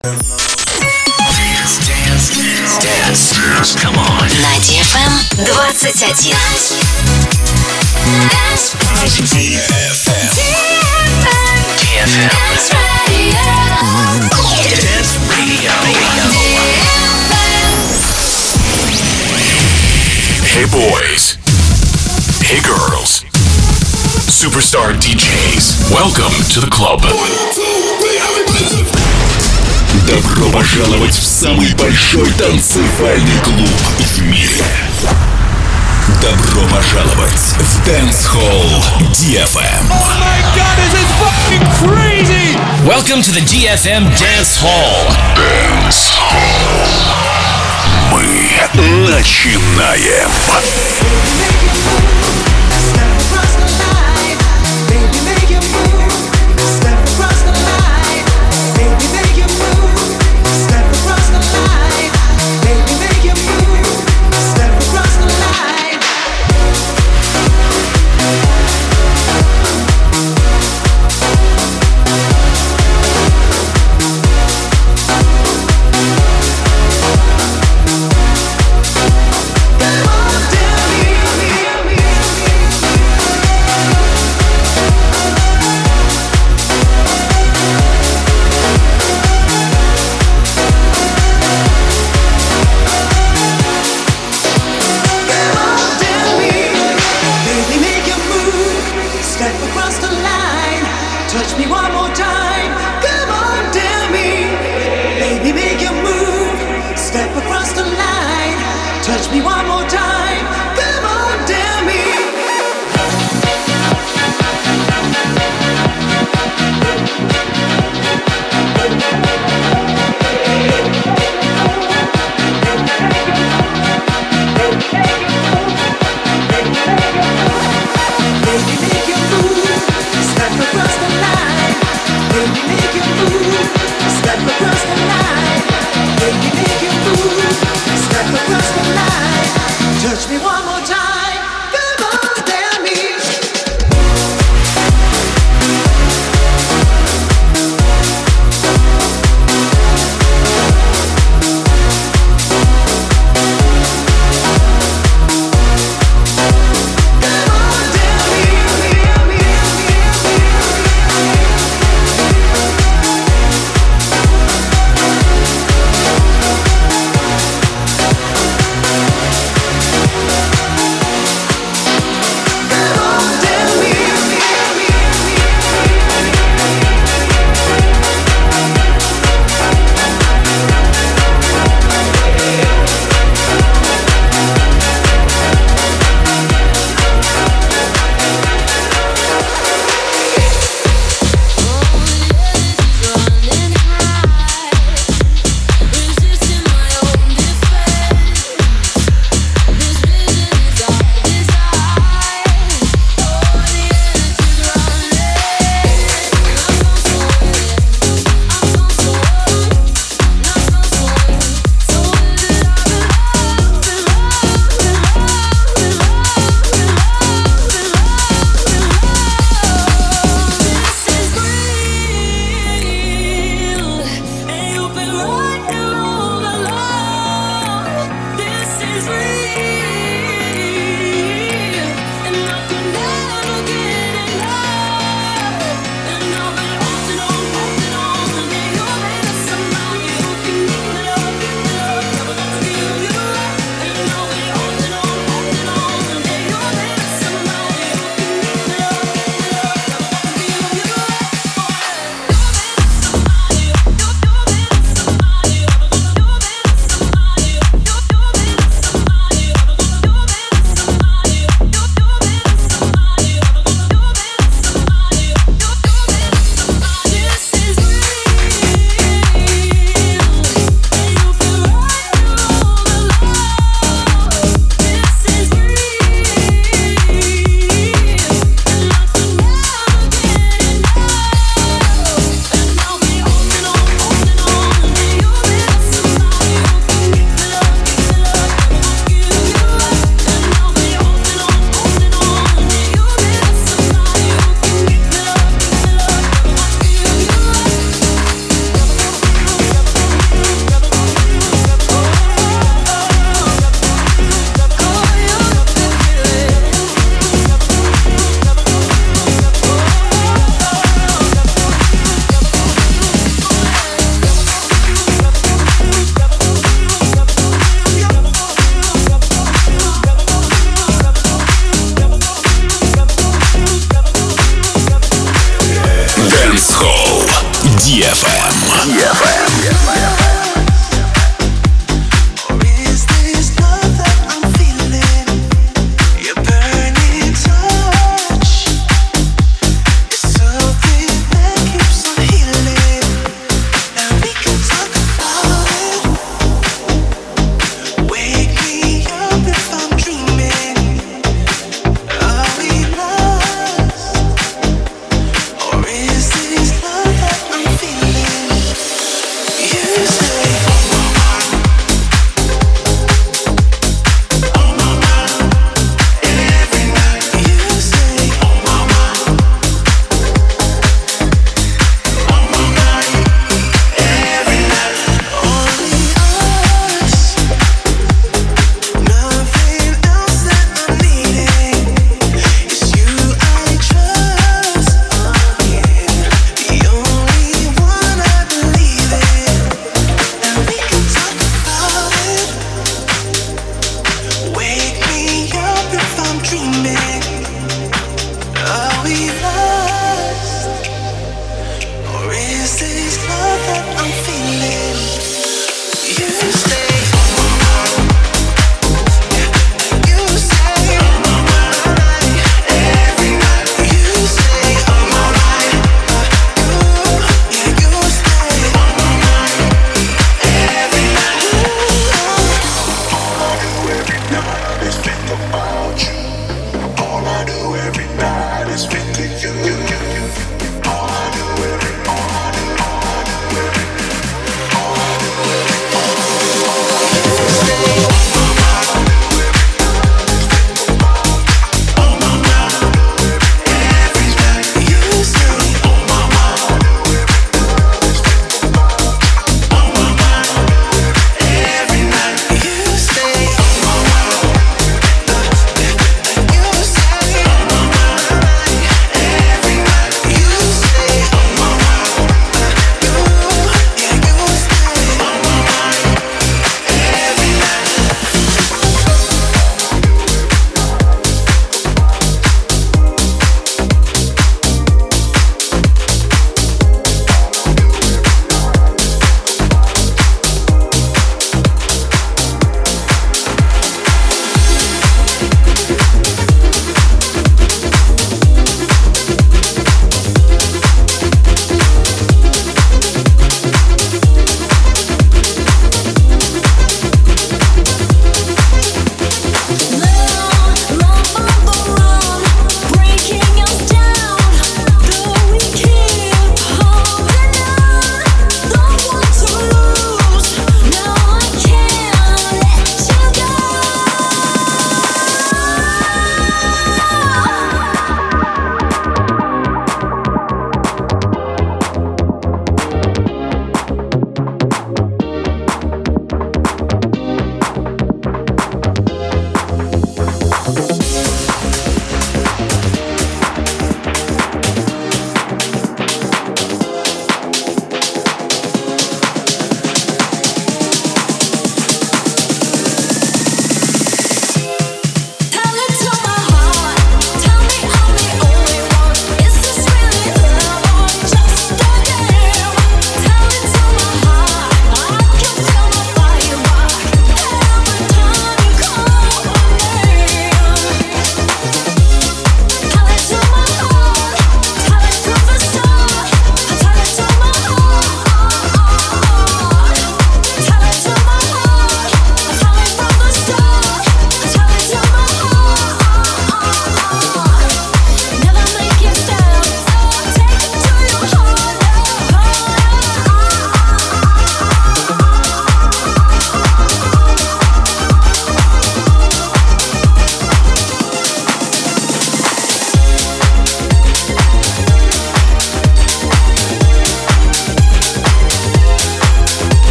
Come on. На DFM 21. Dance Radio. Hey boys. Hey girls. Superstar DJs. Welcome to the club. Добро пожаловать в самый большой танцевальный клуб в мире. Добро пожаловать в Dance Hall DFM. Oh my god, this is fucking crazy! Welcome to the DFM Dance Hall. Dance Hall. Мы начинаем.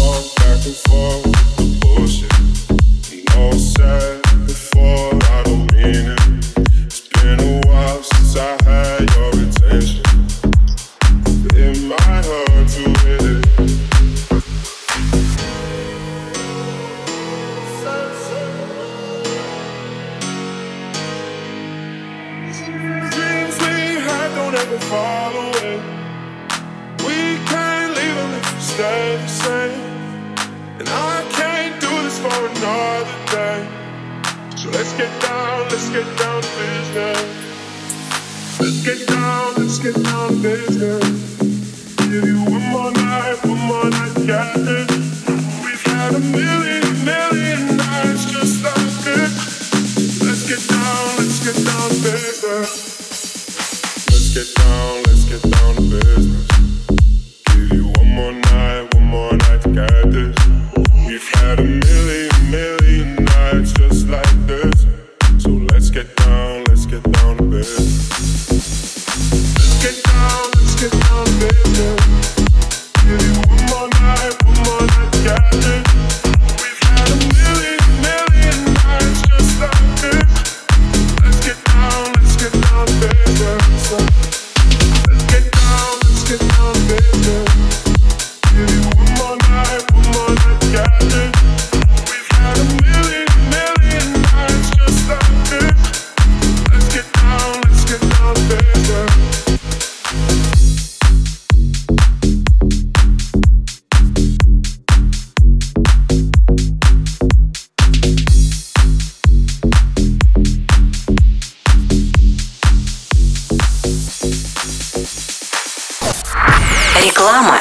Реклама.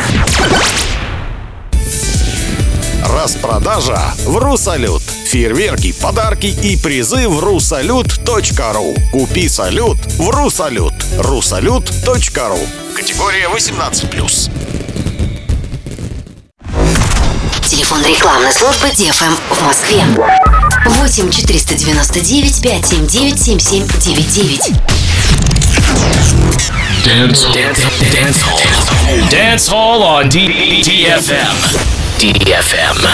Распродажа в РуСалют. Фейерверки, подарки и призы в rusalют.ru. Купи салют в РуСалют. rusalют.ru. Категория 18+. Телефон рекламной службы DFM в Москве. 8 499 579 7799. Dance Hall on DFM. DFM.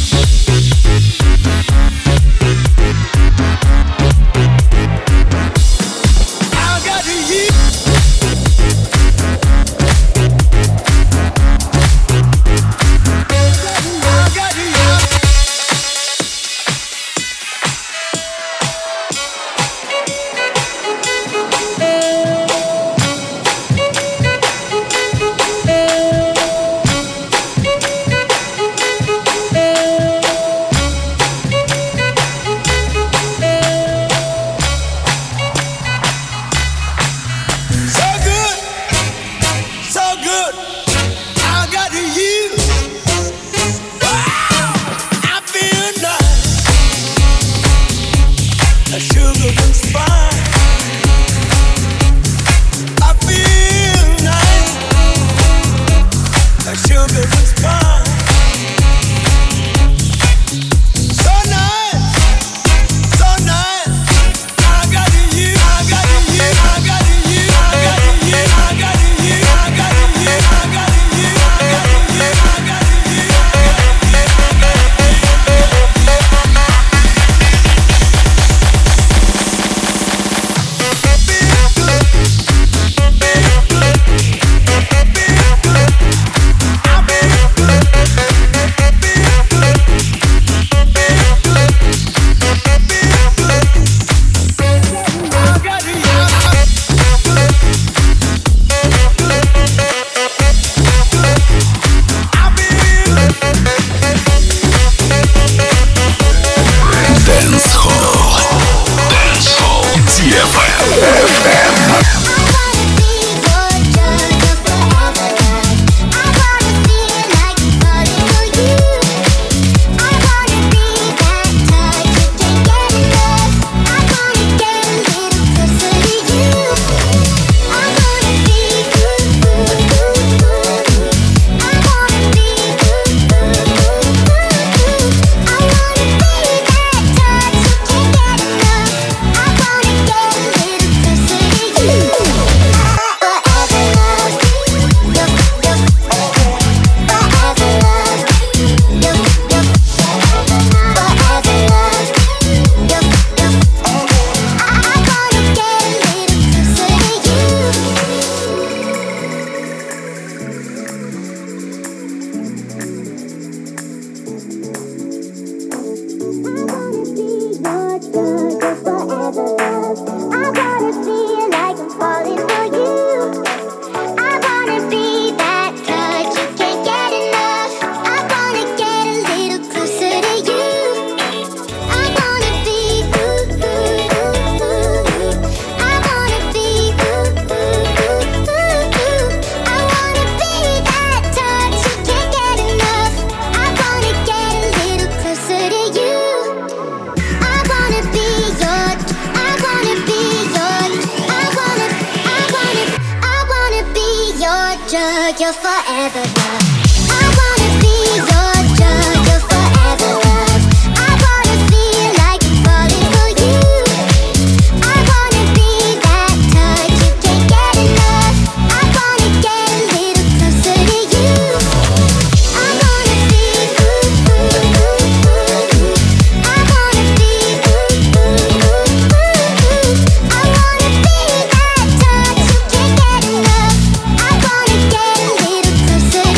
Closer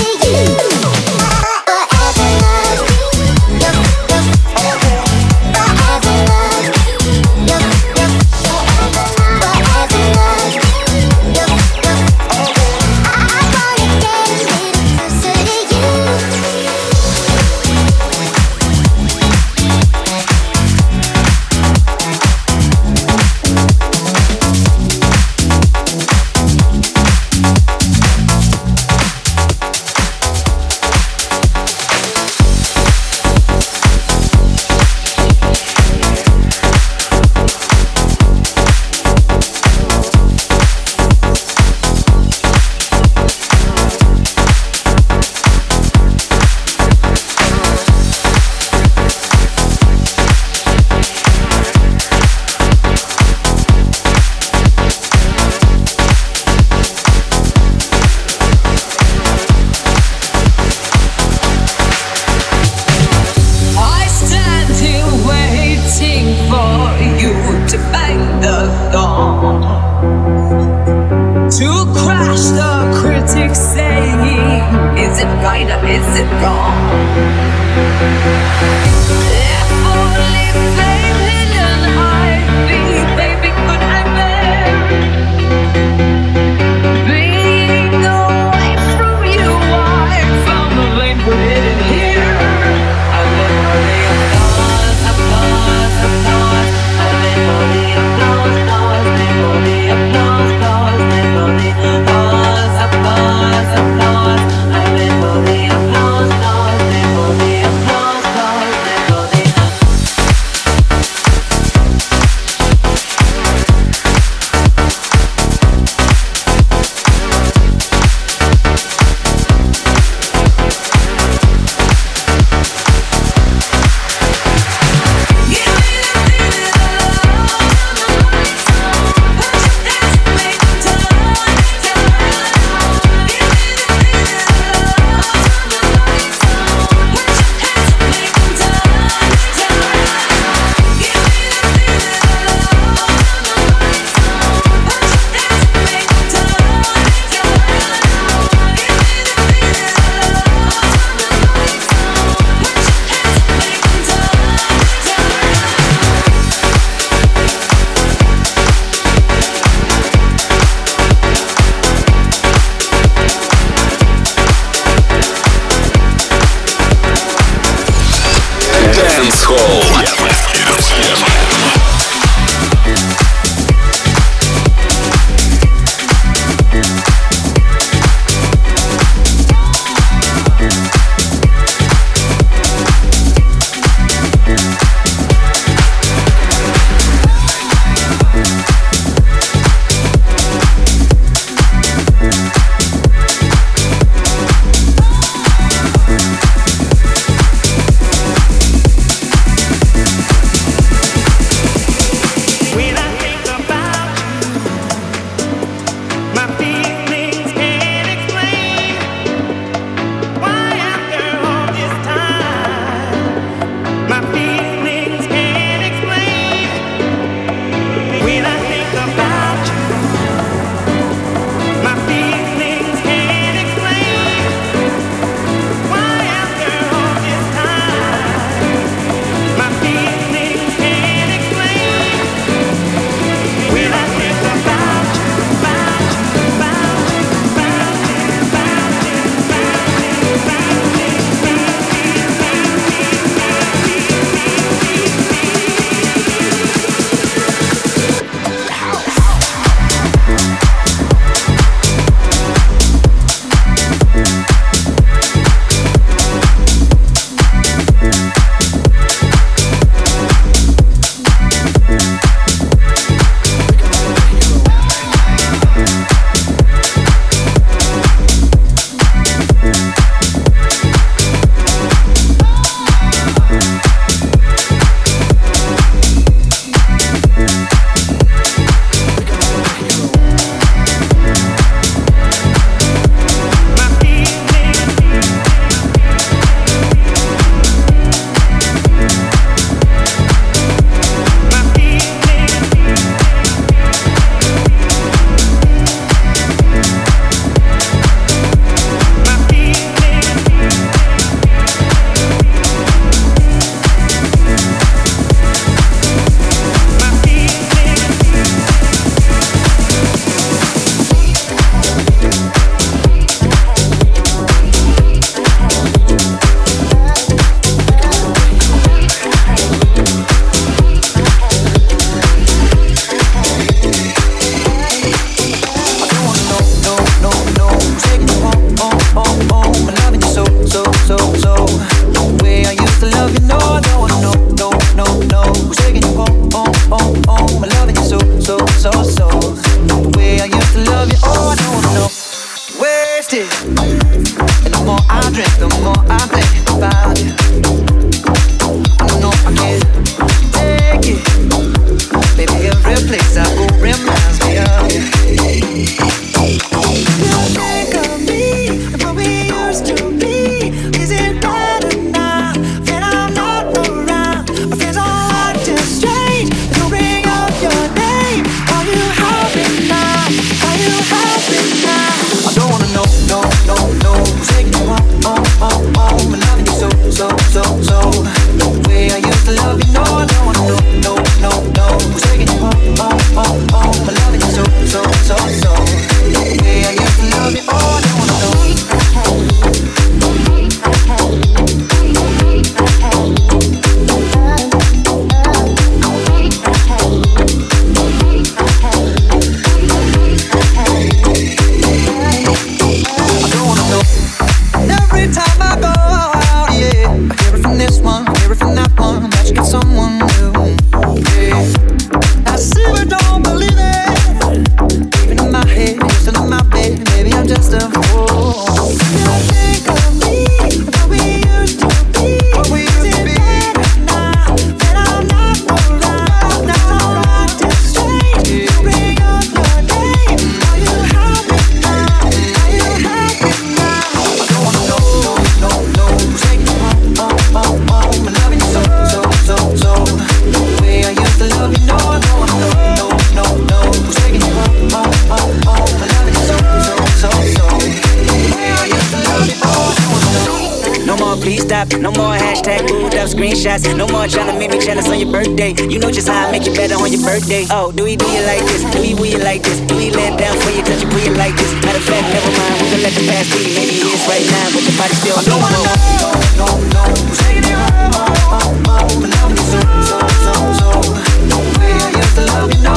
No more hashtag booed up screenshots. No more tryna make me jealous on your birthday. You know just how I make you better on your birthday. Oh, do you like this? Do you like this? Do you let down for you, touch you, put you like this? Matter of fact, never mind, we can let the past be. Maybe it is right now, but your body still on. I don't wanna know, who's taking you home, and I'm so. The way I used to love you, no,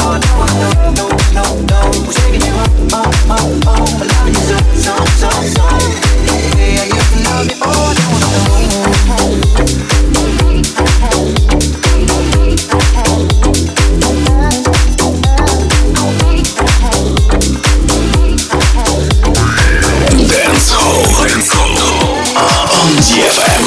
who's taking you home, and I'm so. The way I used to love you, oh, I don't wanna know. On DFM.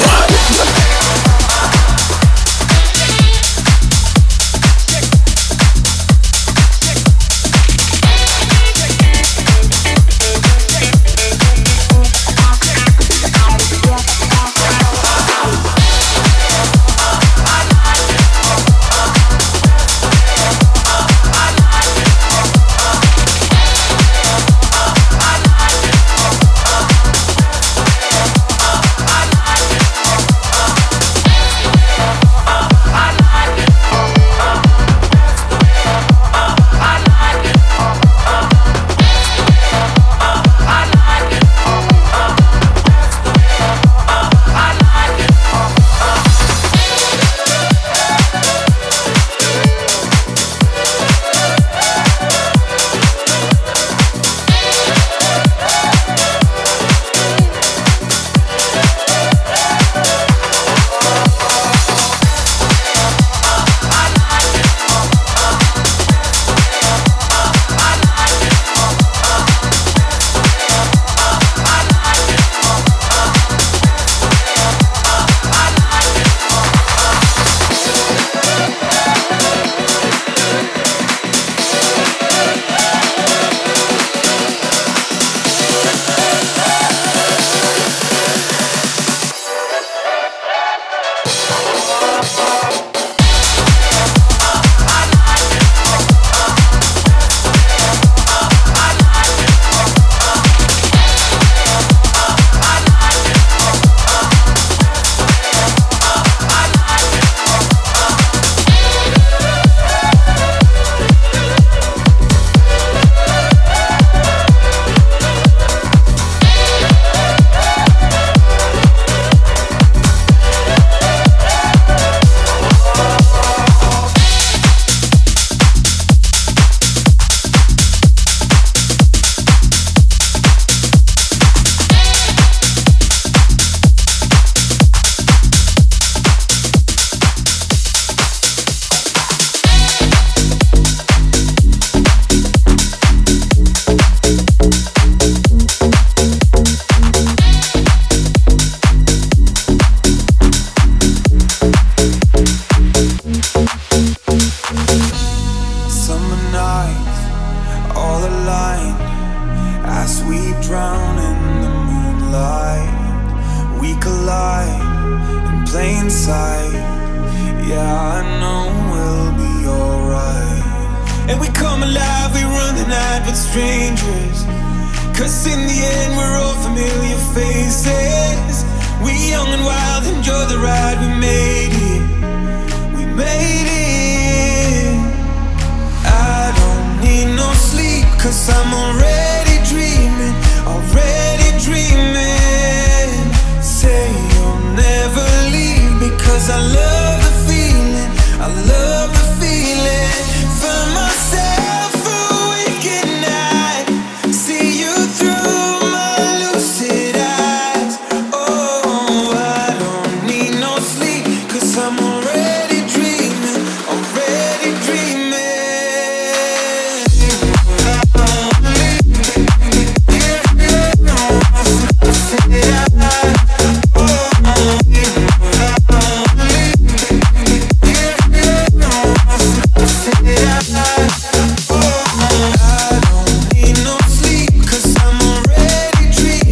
Strangers, 'cause in the end we're all familiar faces. We young and wild, enjoy the ride. We made it. We made it. I don't need no sleep, 'cause I'm already dreaming. Already dreaming. Say you'll never leave, because I love the feeling. I love the feeling. Find myself awake at night. See you through my lucid eyes. Oh, I don't need no sleep, 'cause I'm already dreaming. Already dreaming.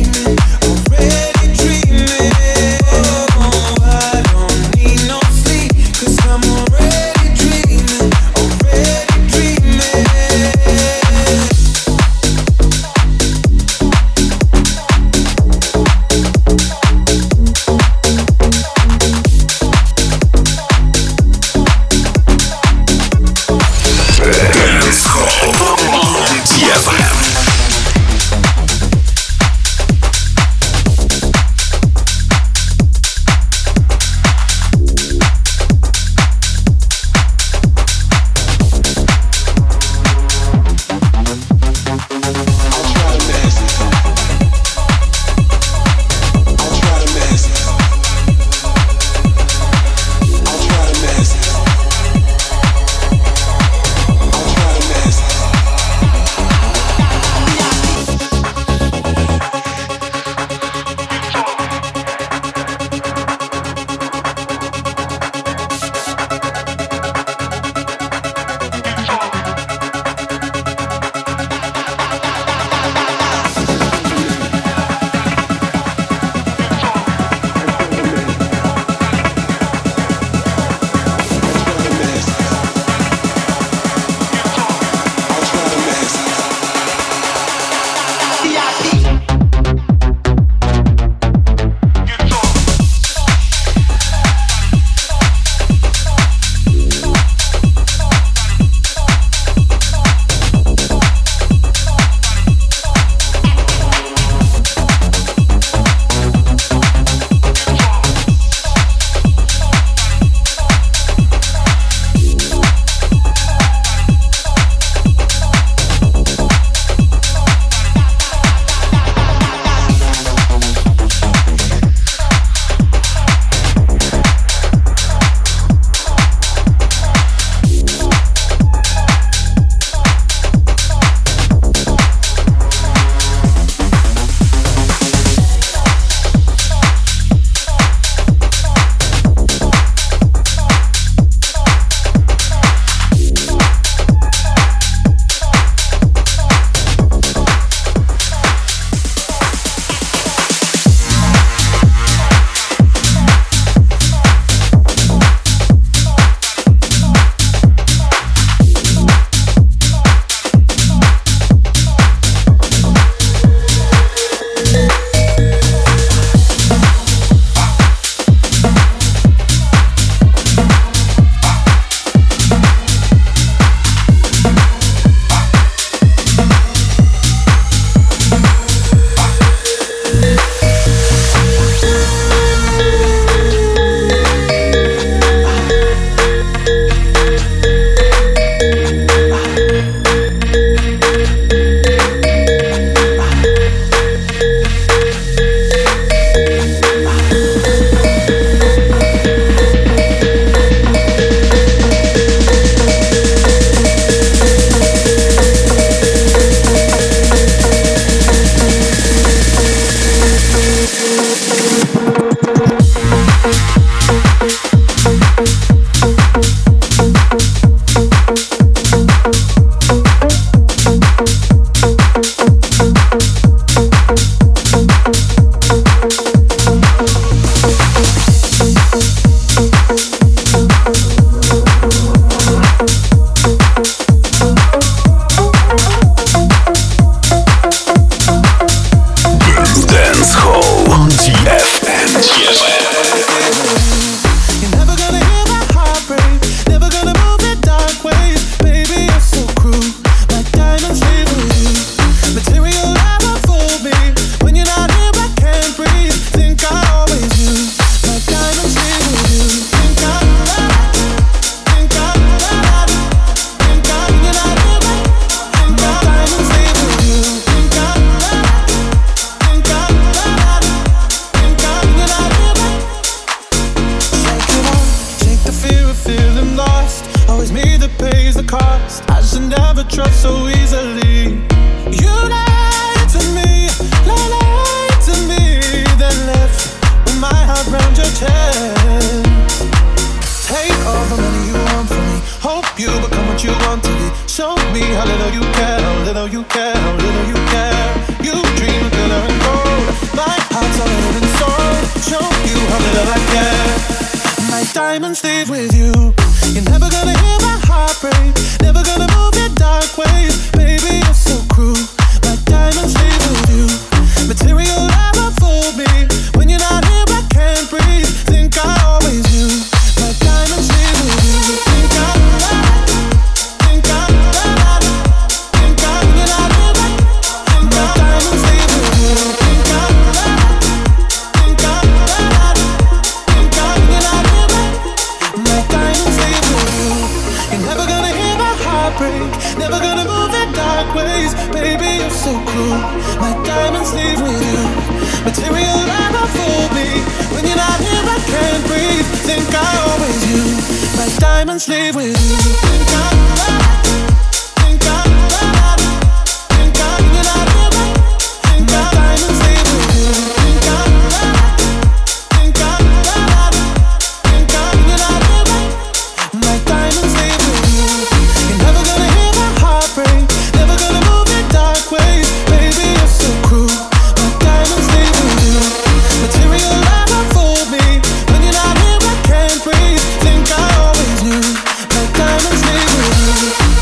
Sleep. always me that pays the cost. I should never trust so easily. You lied to me, lied to me, then left with my heart round your chest. Take all the money you want from me. Hope you become what you want to be. Show me how little you care, how little you care, how little you care. You dream of glitter and gold. My heart's already been sold. Show you how little I care. My diamonds leave with you. You're never gonna hear my heart break. Never gonna move in dark ways. Baby, you're so cruel. My diamonds leave with you. Material never fooled me. When you're not here, I can't breathe. Think I always knew. My diamonds leave with you. Think I think I think I when you're not here, think my diamonds leave with you. Think I think I think I when you're not here, my diamonds leave with you. You're never gonna hear my heart break. Never gonna move in dark ways. Baby, you're so cruel. My diamonds leave with you. Material never fooled me. When you're not here, I can't breathe. Think I always knew. My diamonds leave with you. Think I think I think I when you're not here, think my diamonds leave with you. Think I think I think I when you're not here, my diamonds leave with you. You're never gonna hear my heart break. Never gonna move in dark ways. Baby, you're so cruel. My diamonds leave with you. Material never fooled me. When you're not here, I can't breathe. Think I always knew. My diamonds leave with you.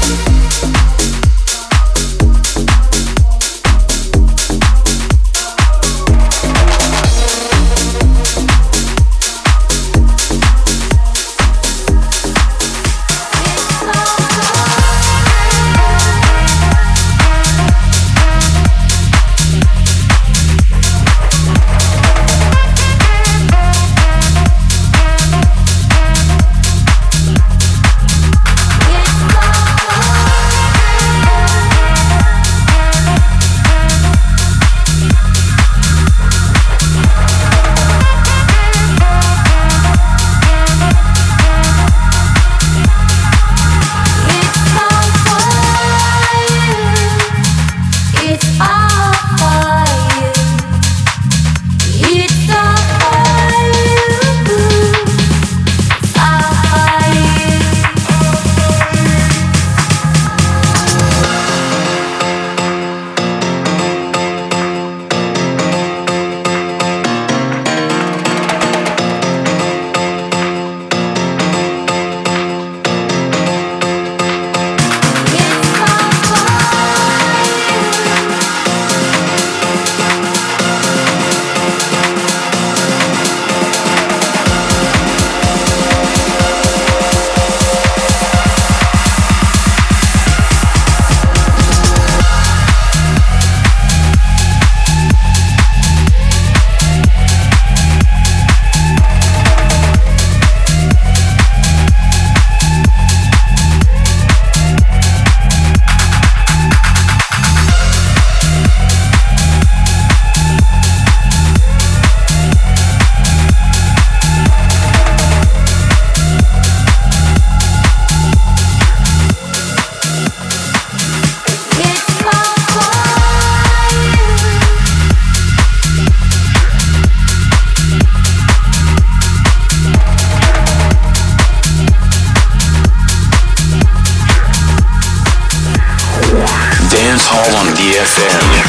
Dancehall on DFM.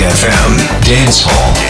DFM Dance Hall.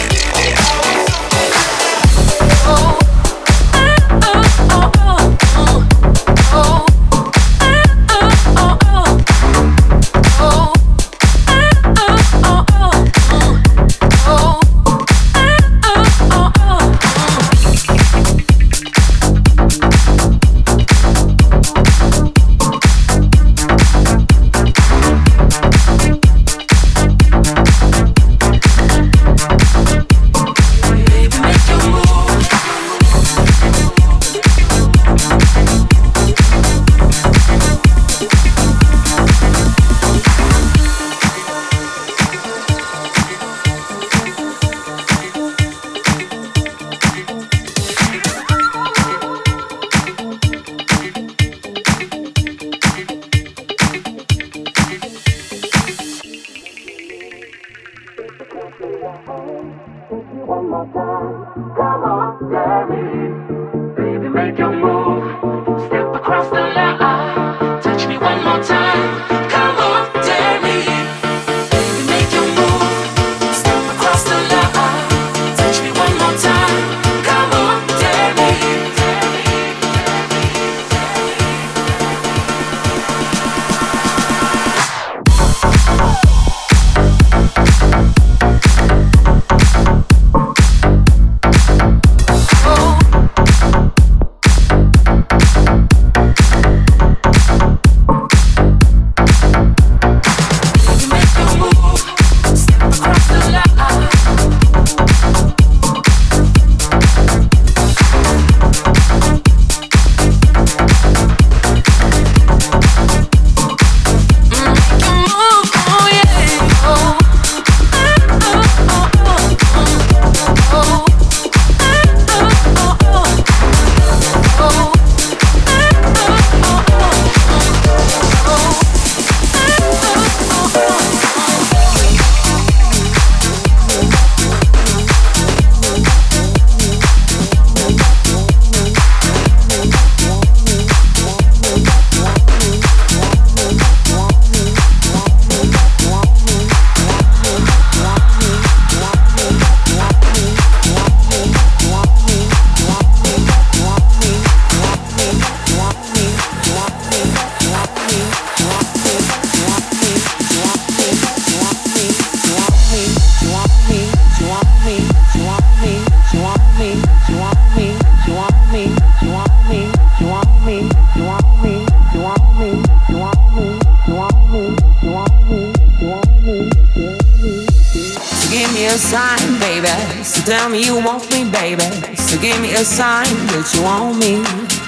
Tell me you want me, baby. So give me a sign that you want me.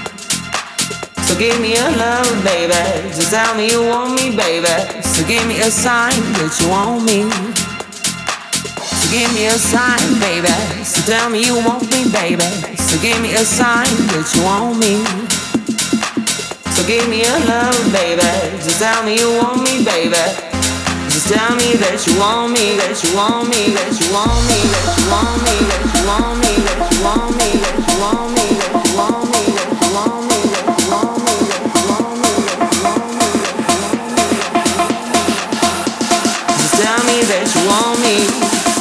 So give me a love, baby. Just tell me you want me, baby. So give me a sign that you want me. So give me a sign, baby. So tell me you want me, baby. So give me a sign that you want me. So give me a love, baby. Just tell me you want me, baby. Just tell me that you want me, that you want me, that you want me, that you want me, that you want me, that you want me, that you want me, that you want me, that you want me, that you want me, that you want me, that you want me, that you want me. Just tell me that you want me.